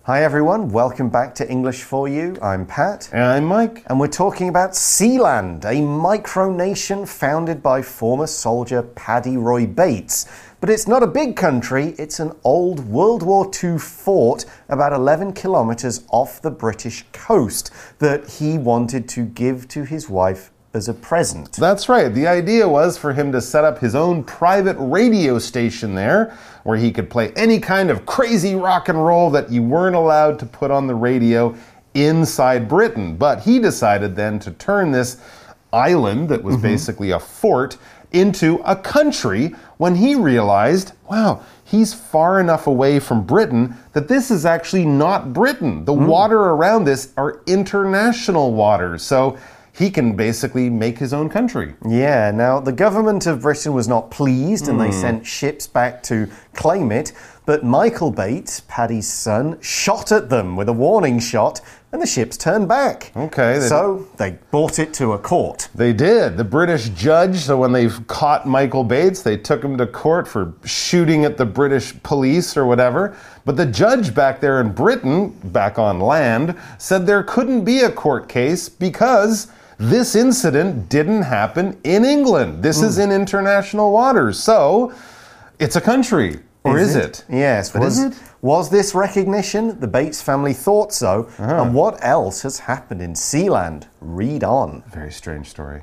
Hi everyone, welcome back to English for You. I'm Pat. And I'm Mike. And we're talking about Sealand, a micronation founded by former soldier Paddy Roy Bates. But it's not a big country, it's an old World War II fort about 11 kilometers off the British coast that he wanted to give to his wife as a present. That's right. The idea was for him to set up his own private radio station there where he could play any kind of crazy rock and roll that you weren't allowed to put on the radio inside Britain. But he decided then to turn this island that was basically a fort into a country when he realized, wow, he's far enough away from Britain that this is actually not Britain. The water around this are international waters. So he can basically make his own country. Yeah, now the government of Britain was not pleased and they sent ships back to claim it, but Michael Bates, Paddy's son, shot at them with a warning shot and the ships turned back. Okay. So they brought it to a court. They did. The British judge, so when they caught Michael Bates, they took him to court for shooting at the British police or whatever. But the judge back there in Britain, back on land, said there couldn't be a court case because this incident didn't happen in England. This is in international waters. So it's a country. Or is it? Yes. But is it? Was this recognition? The Bates family thought so. And what else has happened in Sealand? Read on. Very strange story.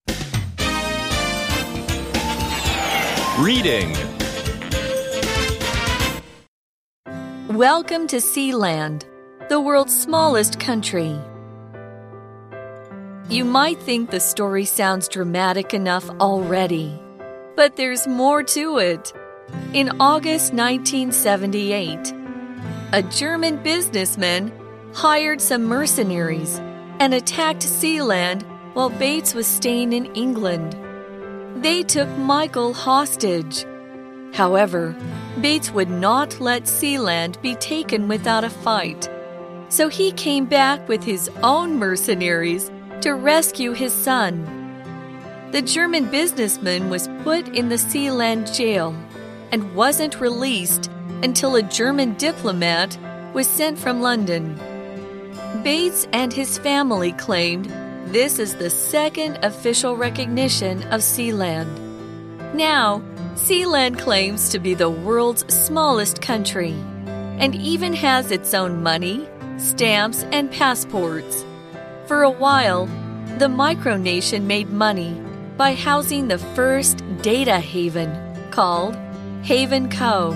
Reading. Welcome to Sealand, the world's smallest country. You might think the story sounds dramatic enough already, but there's more to it. In August 1978, a German businessman hired some mercenaries and attacked Sealand while Bates was staying in England. They took Michael hostage. However, Bates would not let Sealand be taken without a fight, so he came back with his own mercenaries to rescue his son. The German businessman was put in the Sealand jail and wasn't released until a German diplomat was sent from London. Bates and his family claimed this is the second official recognition of Sealand. Now, Sealand claims to be the world's smallest country and even has its own money, stamps, and passports. For a while, the micronation made money by housing the first data haven called Haven Co.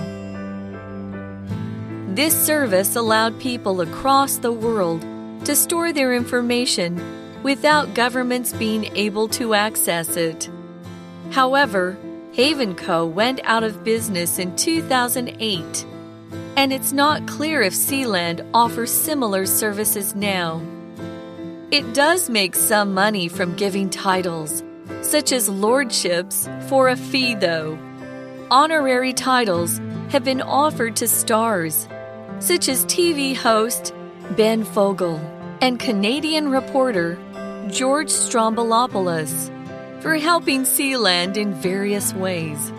This service allowed people across the world to store their information without governments being able to access it. However, Haven Co. went out of business in 2008, and it's not clear if Sealand offers similar services now. It does make some money from giving titles, such as lordships, for a fee though. Honorary titles have been offered to stars, such as TV host Ben Fogle and Canadian reporter George Stroumboulopoulos, for helping Sealand in various ways.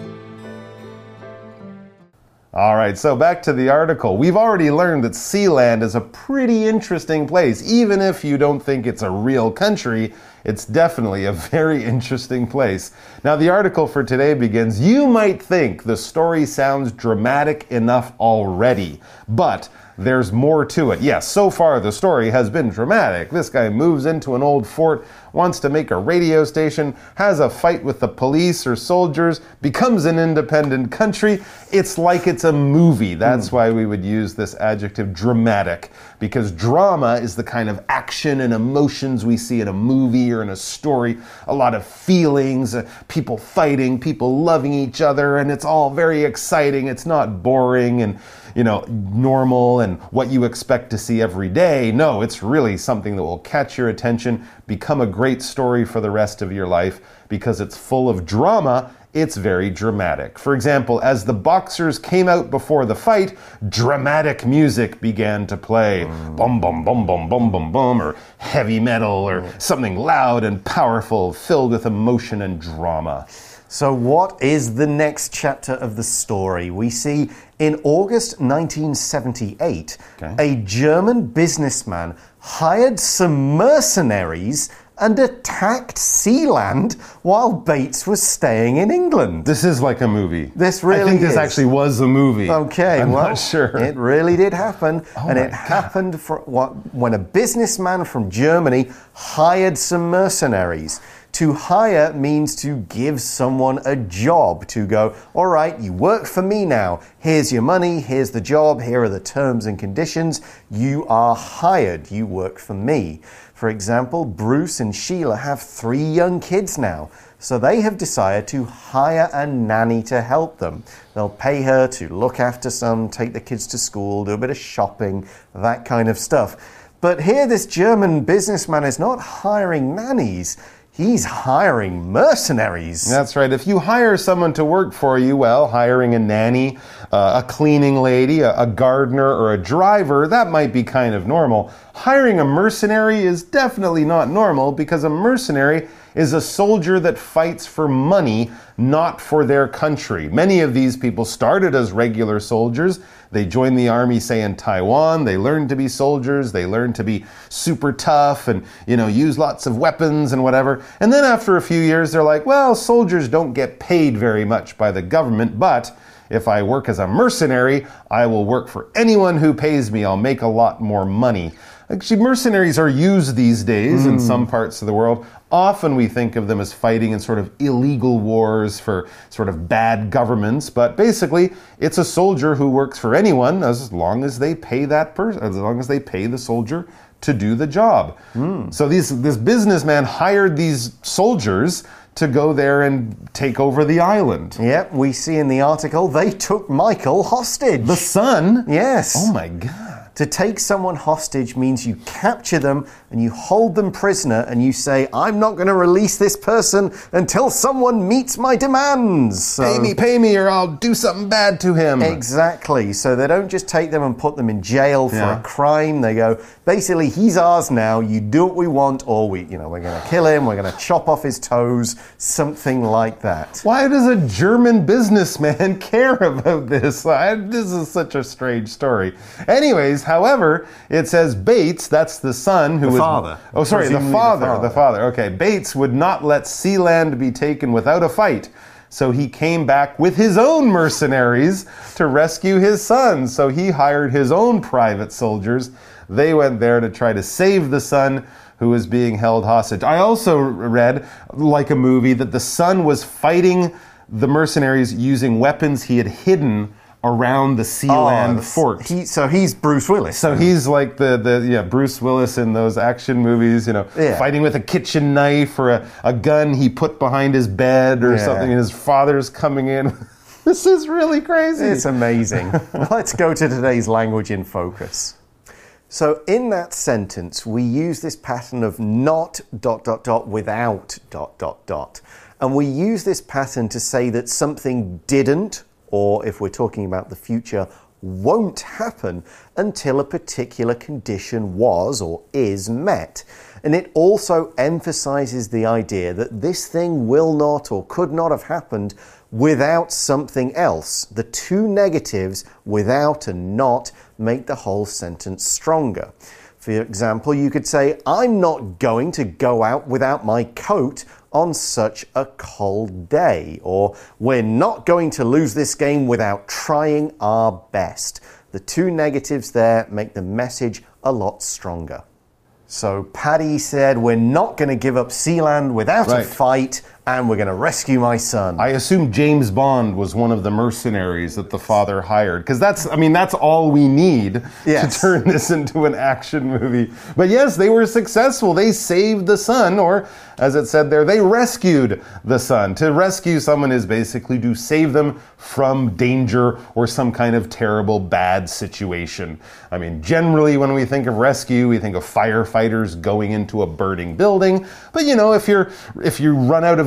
All right, so back to the article. We've already learned that Sealand is a pretty interesting place. Even if you don't think it's a real country, it's definitely a very interesting place. Now, the article for today begins, you might think the story sounds dramatic enough already, but there's more to it. Yes, so far the story has been dramatic. This guy moves into an old fort, wants to make a radio station, has a fight with the police or soldiers, becomes an independent country. It's like it's a movie. That's why we would use this adjective dramatic, because drama is the kind of action and emotions we see in a movie or in a story. A lot of feelings, people fighting, people loving each other, and it's all very exciting. It's not boring and normal and what you expect to see every day. No, it's really something that will catch your attention, become a great story for the rest of your life because it's full of drama. It's very dramatic. For example, as the boxers came out before the fight, dramatic music began to play. Bum, bum, bum, bum, bum, bum, bum, or heavy metal, or something loud and powerful, filled with emotion and drama. So what is the next chapter of the story? We see in August 1978, a German businessman hired some mercenaries and attacked Sealand while Bates was staying in England. This is like a movie. This really is. I think this actually was a movie. Okay, I'm well, not sure. It really did happen. And it happened when a businessman from Germany hired some mercenaries. To hire means to give someone a job, to go, all right, you work for me now. Here's your money, here's the job, here are the terms and conditions. You are hired, you work for me. For example, Bruce and Sheila have 3 young kids now, so they have decided to hire a nanny to help them. They'll pay her to look after some, take the kids to school, do a bit of shopping, that kind of stuff. But here this German businessman is not hiring nannies. He's hiring mercenaries. That's right. If you hire someone to work for you, well, hiring a nanny, a cleaning lady, a gardener, or a driver, that might be kind of normal. Hiring a mercenary is definitely not normal because a mercenary is a soldier that fights for money, not for their country. Many of these people started as regular soldiers. They joined the army, say, in Taiwan. They learned to be soldiers. They learned to be super tough and, use lots of weapons and whatever. And then after a few years, they're like, well, soldiers don't get paid very much by the government, but if I work as a mercenary, I will work for anyone who pays me. I'll make a lot more money. Actually, mercenaries are used these days in some parts of the world. Often we think of them as fighting in sort of illegal wars for sort of bad governments, but basically it's a soldier who works for anyone as long as they pay that person, as long as they pay the soldier to do the job. So this businessman hired these soldiers to go there and take over the island. Yep, we see in the article they took Michael hostage. The son? Yes. Oh my God. To take someone hostage means you capture them and you hold them prisoner and you say, I'm not going to release this person until someone meets my demands. So, pay me or I'll do something bad to him. Exactly. So they don't just take them and put them in jail for a crime. They go, basically, he's ours now. You do what we want, or we're going to kill him. We're going to chop off his toes, something like that. Why does a German businessman care about this? This is such a strange story. Anyways, however, it says Bates, that's the son who was... father. Oh, sorry, the father. Okay, Bates would not let Sealand be taken without a fight. So he came back with his own mercenaries to rescue his son. So he hired his own private soldiers. They went there to try to save the son who was being held hostage. I also read, like a movie, that the son was fighting the mercenaries using weapons he had hidden around the Sealand fort. So he's Bruce Willis. So he's like the Bruce Willis in those action movies, fighting with a kitchen knife or a gun he put behind his bed or something, and his father's coming in. This is really crazy. It's amazing. Let's go to today's language in focus. So in that sentence, we use this pattern of not ... without ... And we use this pattern to say that something didn't, or if we're talking about the future, won't happen until a particular condition was or is met. And it also emphasizes the idea that this thing will not or could not have happened without something else. The two negatives, without and not, make the whole sentence stronger. For example, you could say, I'm not going to go out without my coat on such a cold day. Or, we're not going to lose this game without trying our best. The two negatives there make the message a lot stronger. So Paddy said, we're not going to give up Sealand without a fight, and we're going to rescue my son. I assume James Bond was one of the mercenaries that the father hired, because that's all we need to turn this into an action movie. But yes, they were successful. They saved the son, or as it said there, they rescued the son. To rescue someone is basically to save them from danger or some kind of terrible bad situation. I mean, generally when we think of rescue, we think of firefighters going into a burning building. But if you run out of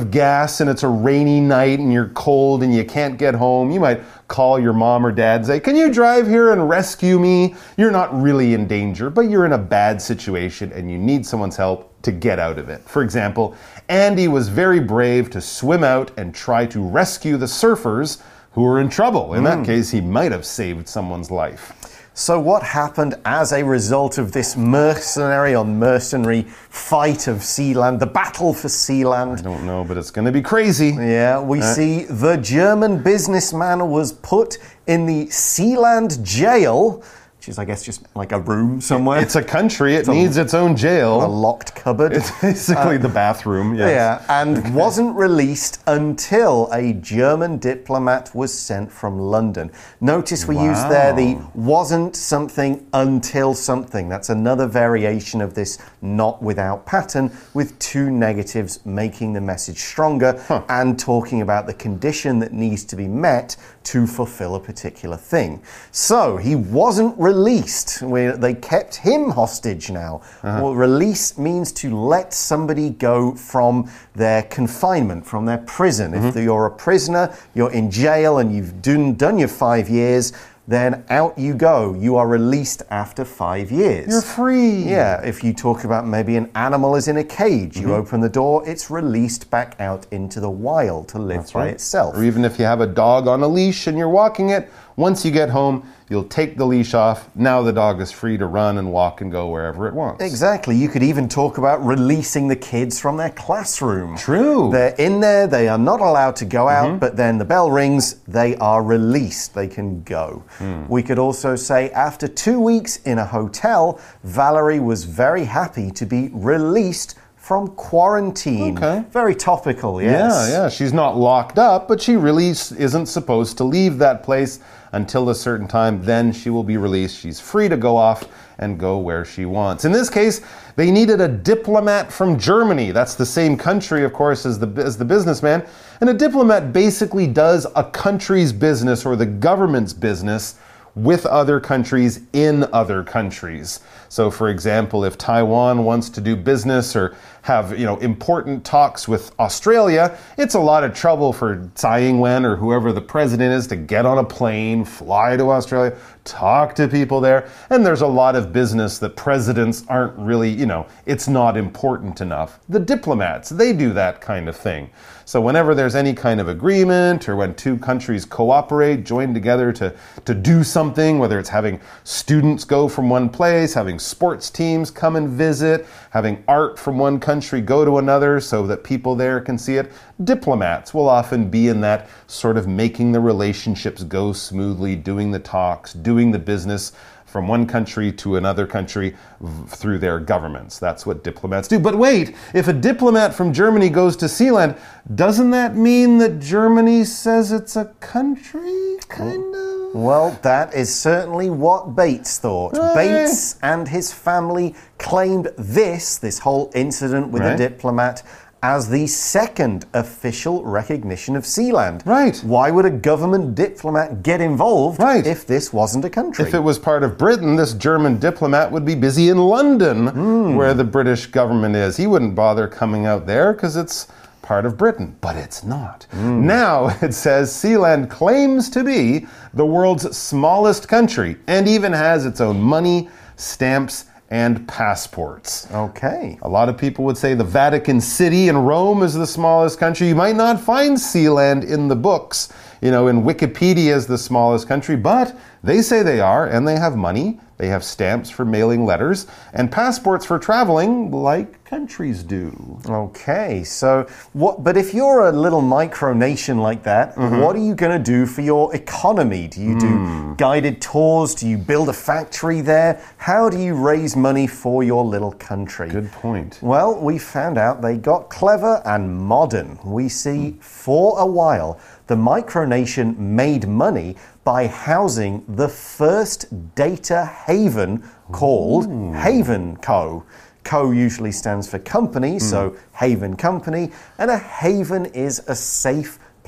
of gas and it's a rainy night and you're cold and you can't get home, you might call your mom or dad and say, can you drive here and rescue me? You're not really in danger, but you're in a bad situation and you need someone's help to get out of it. For example, Andy was very brave to swim out and try to rescue the surfers who were in trouble. In that case, he might have saved someone's life. So what happened as a result of this mercenary on mercenary fight of Sealand, the battle for Sealand? I don't know, but it's going to be crazy. Yeah, we see the German businessman was put in the Sealand jail, which is, I guess, just like a room somewhere. It's a country. It needs its own jail. A locked cupboard. It's basically the bathroom. Yes. Yeah, and wasn't released until a German diplomat was sent from London. Notice we used there the wasn't something until something. That's another variation of this not without pattern, with two negatives making the message stronger and talking about the condition that needs to be met to fulfill a particular thing. So he wasn't released. They kept him hostage now. Well, release means to let somebody go from their confinement, from their prison. If you're a prisoner, you're in jail and you've done your 5 years, then out you go. You are released after 5 years. You're free. Yeah, if you talk about maybe an animal is in a cage, you open the door, it's released back out into the wild to live by itself. Or even if you have a dog on a leash and you're walking it, once you get home, you'll take the leash off. Now the dog is free to run and walk and go wherever it wants. Exactly. You could even talk about releasing the kids from their classroom. True. They're in there, they are not allowed to go out, but then the bell rings, they are released, they can go. We could also say after 2 weeks in a hotel, Valerie was very happy to be released from quarantine. Okay. Very topical, yes. Yeah. She's not locked up, but she really isn't supposed to leave that place until a certain time. Then she will be released. She's free to go off and go where she wants. In this case, they needed a diplomat from Germany. That's the same country, of course, as the businessman. And a diplomat basically does a country's business or the government's business with other countries in other countries. So, for example, if Taiwan wants to do business or have, important talks with Australia, it's a lot of trouble for Tsai Ing-wen or whoever the president is to get on a plane, fly to Australia, talk to people there. And there's a lot of business that presidents aren't really, it's not important enough. The diplomats, they do that kind of thing. So whenever there's any kind of agreement or when two countries cooperate, join together to do something, whether it's having students go from one place, having sports teams come and visit, having art from one country go to another so that people there can see it, diplomats will often be in that sort of making the relationships go smoothly, doing the talks, doing the business from one country to another country through their governments. That's what diplomats do. But wait, if a diplomat from Germany goes to Sealand, doesn't that mean that Germany says it's a country, kind of? Well, that is certainly what Bates thought. Bates and his family claimed this whole incident with the diplomat as the second official recognition of Sealand. Right. Why would a government diplomat get involved if this wasn't a country? If it was part of Britain, this German diplomat would be busy in London, where the British government is. He wouldn't bother coming out there because it's part of Britain, but it's not. Now it says Sealand claims to be the world's smallest country and even has its own money, stamps, and passports. Okay. A lot of people would say the Vatican City in Rome is the smallest country. You might not find Sealand in the books, in Wikipedia as the smallest country, but they say they are, and they have money. They have stamps for mailing letters and passports for traveling like countries do. Okay, so but if you're a little micronation like that, what are you going to do for your economy? Do you do guided tours? Do you build a factory there? How do you raise money for your little country? Good point. Well, we found out they got clever and modern. We see for a while the micronation made money by housing the first data haven called Haven Co. Co usually stands for company, so Haven Company, and a haven is a safe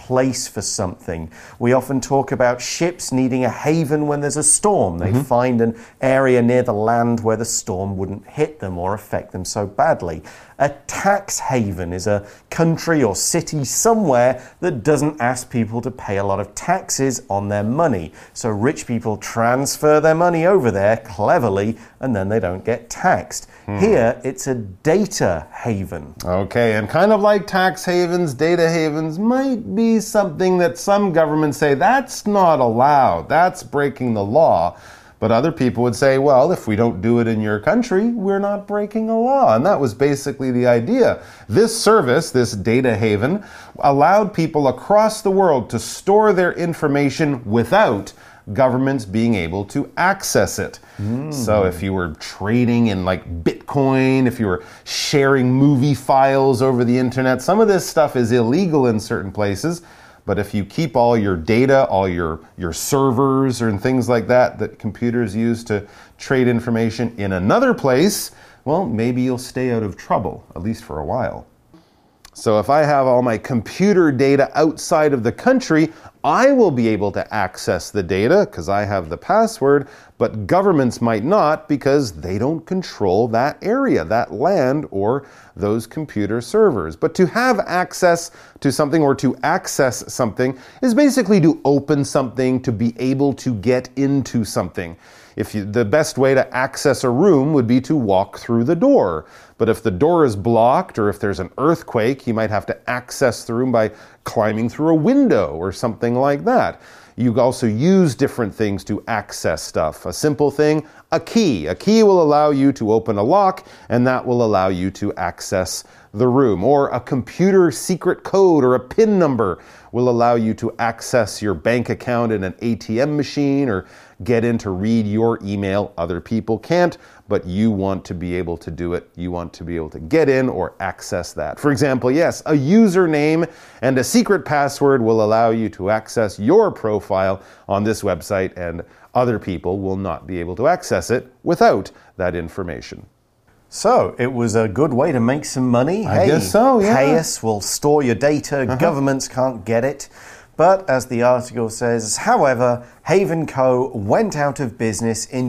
place for something. We often talk about ships needing a haven when there's a storm. They find an area near the land where the storm wouldn't hit them or affect them so badly. A tax haven is a country or city somewhere that doesn't ask people to pay a lot of taxes on their money. So rich people transfer their money over there cleverly and then they don't get taxed. Here, it's a data haven. Okay, and kind of like tax havens, data havens might be something that some governments say that's not allowed, that's breaking the law. But other people would say, well, if we don't do it in your country, we're not breaking a law. And that was basically the idea. This service, this data haven, allowed people across the world to store their information without governments being able to access it. So if you were trading in like Bitcoin, if you were sharing movie files over the internet, some of this stuff is illegal in certain places. But if you keep all your data, all your servers and things like that computers use to trade information in another place, well, maybe you'll stay out of trouble, at least for a while. So if I have all my computer data outside of the country, I will be able to access the data because I have the password, but governments might not because they don't control that area, that land, or those computer servers. But to have access to something or to access something is basically to open something, to be able to get into something. The best way to access a room would be to walk through the door. But if the door is blocked or if there's an earthquake, you might have to access the room by climbing through a window or something like that. You also use different things to access stuff. A simple thing, a key. A key will allow you to open a lock, and that will allow you to access the room. Or a computer secret code or a PIN number will allow you to access your bank account in an ATM machine or get in to read your email. Other people can't, but you want to be able to do it. You want to be able to get in or access that. For example, yes, a username and a secret password will allow you to access your profile on this website, and other people will not be able to access it without that information. So, it was a good way to make some money. I guess so, yeah. Pay us, we'll store your data, governments can't get it. But as the article says, however, Haven Co. went out of business in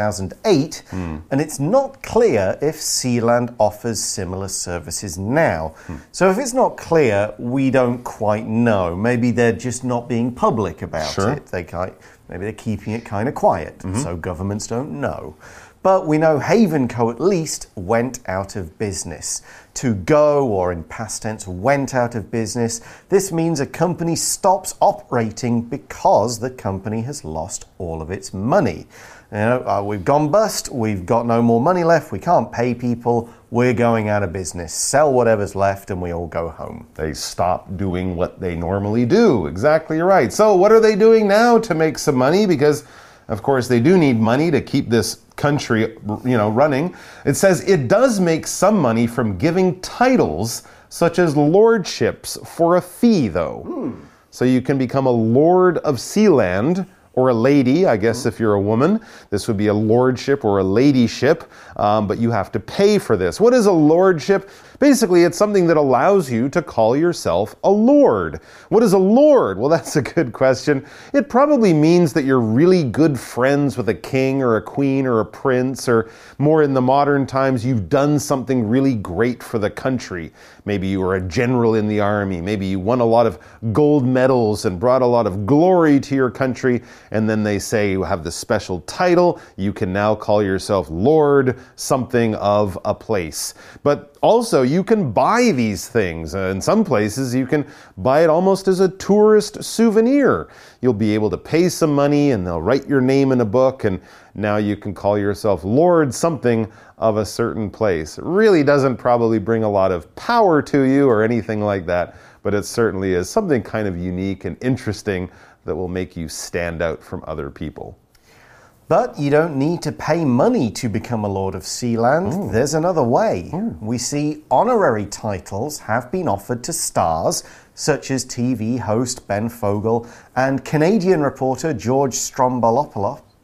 2008, and it's not clear if Sealand offers similar services now. So if it's not clear, we don't quite know. Maybe they're just not being public about it. Maybe they're keeping it kind of quiet, so governments don't know. But we know Haven Co. at least went out of business. To go, or in past tense, went out of business. This means a company stops operating because the company has lost all of its money. You know, we've gone bust, we've got no more money left, we can't pay people, we're going out of business. Sell whatever's left and we all go home. They stop doing what they normally do. Exactly right. So what are they doing now to make some money? Because of course, they do need money to keep this country, running. It says it does make some money from giving titles such as lordships for a fee, though. So you can become a lord of Sealand, or a lady, I guess if you're a woman. This would be a lordship or a ladyship, but you have to pay for this. What is a lordship? Basically, it's something that allows you to call yourself a lord. What is a lord? Well, that's a good question. It probably means that you're really good friends with a king or a queen or a prince, or more in the modern times, you've done something really great for the country. Maybe you were a general in the army. Maybe you won a lot of gold medals and brought a lot of glory to your country. And then they say you have this special title. You can now call yourself Lord something of a place. But also, you can buy these things. In some places, you can buy it almost as a tourist souvenir. You'll be able to pay some money and they'll write your name in a book, and now you can call yourself Lord something of a certain place. It really doesn't probably bring a lot of power to you or anything like that, but it certainly is something kind of unique and interesting that will make you stand out from other people. But you don't need to pay money to become a Lord of Sealand. There's another way. We see honorary titles have been offered to stars, such as TV host Ben Fogle and Canadian reporter George Stroumboulopoulos.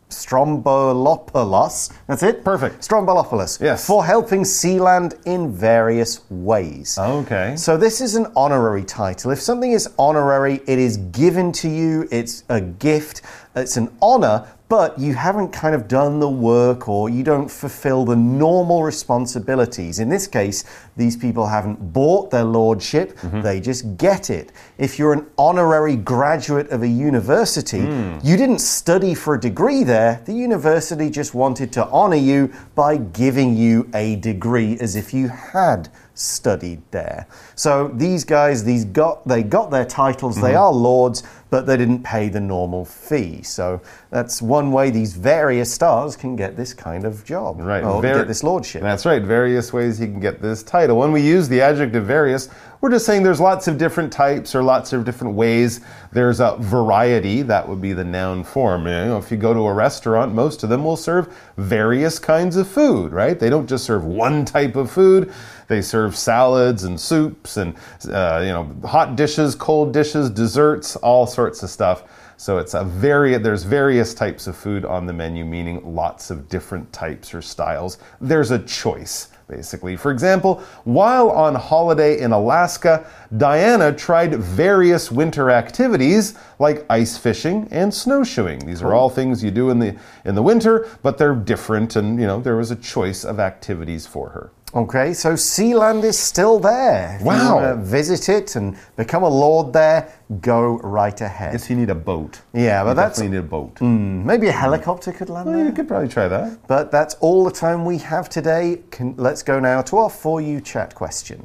Strombolopoulos. That's it? Perfect. Strombolopoulos. Yes. For helping Sealand in various ways. Okay. So this is an honorary title. If something is honorary, it is given to you, it's a gift, it's an honor, but you haven't kind of done the work or you don't fulfill the normal responsibilities. In this case, these people haven't bought their lordship, they just get it. If you're an honorary graduate of a university, you didn't study for a degree there, the university just wanted to honor you by giving you a degree as if you had studied there. So these guys, they got their titles, they are lords, but they didn't pay the normal fee. So that's one way these various stars can get this kind of job. Right. Or get this lordship. That's right. Various ways you can get this title. When we use the adjective various, we're just saying there's lots of different types or lots of different ways. There's a variety. That would be the noun form. You know, if you go to a restaurant, most of them will serve various kinds of food, right? They don't just serve one type of food. They serve salads and soups and hot dishes, cold dishes, desserts, all sorts of stuff. So it's there's various types of food on the menu, meaning lots of different types or styles. There's a choice, basically. For example, while on holiday in Alaska, Diana tried various winter activities like ice fishing and snowshoeing. These are all things you do in the winter, but they're different, and there was a choice of activities for her. Okay, so Sealand is still there. If Wow. you want to visit it and become a lord there, go right ahead. Guess you need a boat. Yeah, but that's... definitely need a boat. Maybe a helicopter could land Well, there. you could probably try that. But that's all the time we have today. Let's go now to our For You Chat question.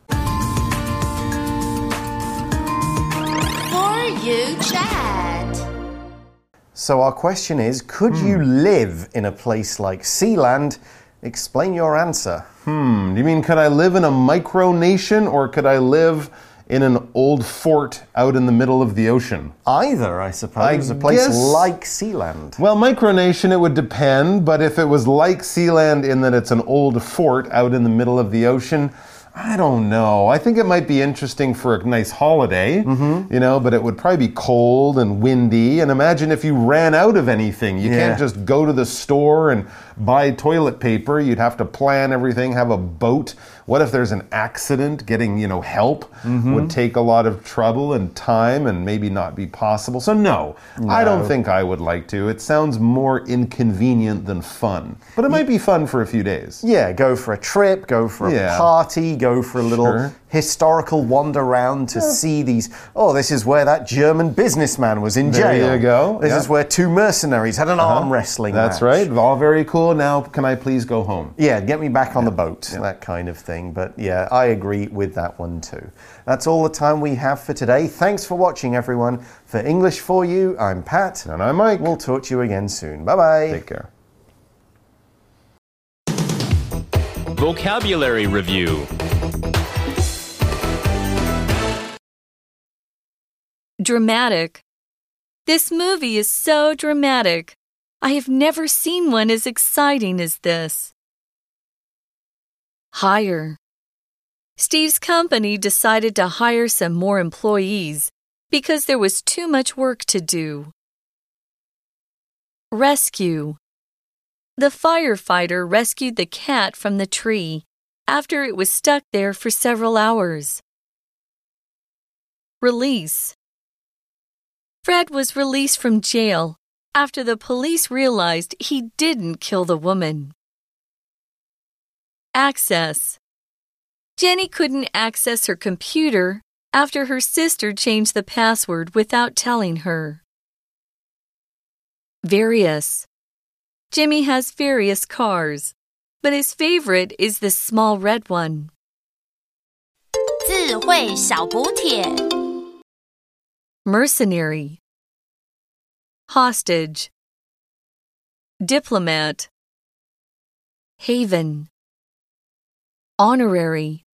For You Chat. So our question is, could you live in a place like Sealand? Explain your answer. Do you mean could I live in a micronation or could I live in an old fort out in the middle of the ocean? Either, I suppose. A place guess- like Sealand. Well, micronation, it would depend, but if it was like Sealand in that it's an old fort out in the middle of the ocean, I don't know. I think it might be interesting for a nice holiday, but it would probably be cold and windy. And imagine if you ran out of anything. You can't just go to the store and buy toilet paper. You'd have to plan everything, have a boat. What if there's an accident? Getting, help would take a lot of trouble and time and maybe not be possible. So no, I don't think I would like to. It sounds more inconvenient than fun. But it might be fun for a few days. Yeah, go for a trip, go for a party, go for a little historical wander round to see these. Oh, this is where that German businessman was in jail. There you go. This is where two mercenaries had an arm wrestling match. That's right. All very cool. Now, can I please go home? Yeah, get me back on the boat, that kind of thing. But yeah, I agree with that one too. That's all the time we have for today. Thanks for watching, everyone. For English For You, I'm Pat. And I'm Mike. We'll talk to you again soon. Bye-bye. Take care. Vocabulary Review. Dramatic. This movie is so dramatic. I have never seen one as exciting as this. Hire. Steve's company decided to hire some more employees because there was too much work to do. Rescue. The firefighter rescued the cat from the tree after it was stuck there for several hours. Release. Fred was released from jail after the police realized he didn't kill the woman. Access. Jenny couldn't access her computer after her sister changed the password without telling her. Various. Jimmy has various cars, but his favorite is the small red one. 智慧小補帖 Mercenary. Hostage. Diplomat. Haven. Honorary.